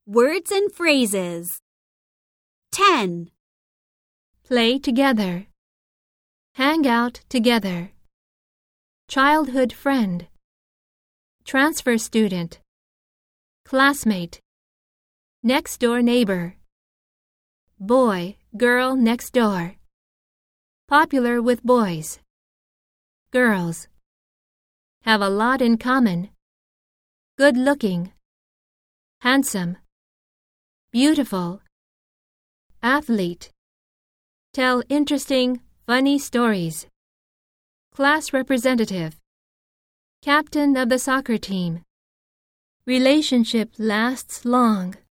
Words and phrases. 10. Play together. Hang out together. Childhood friend. Transfer student. Classmate. Next door neighbor. Boy, girl next door. Popular with boys. Girls. Have a lot in common. Good looking. Handsome. Beautiful. Athlete. Tell interesting, funny stories. Class representative. Captain of the soccer team. Relationship lasts long.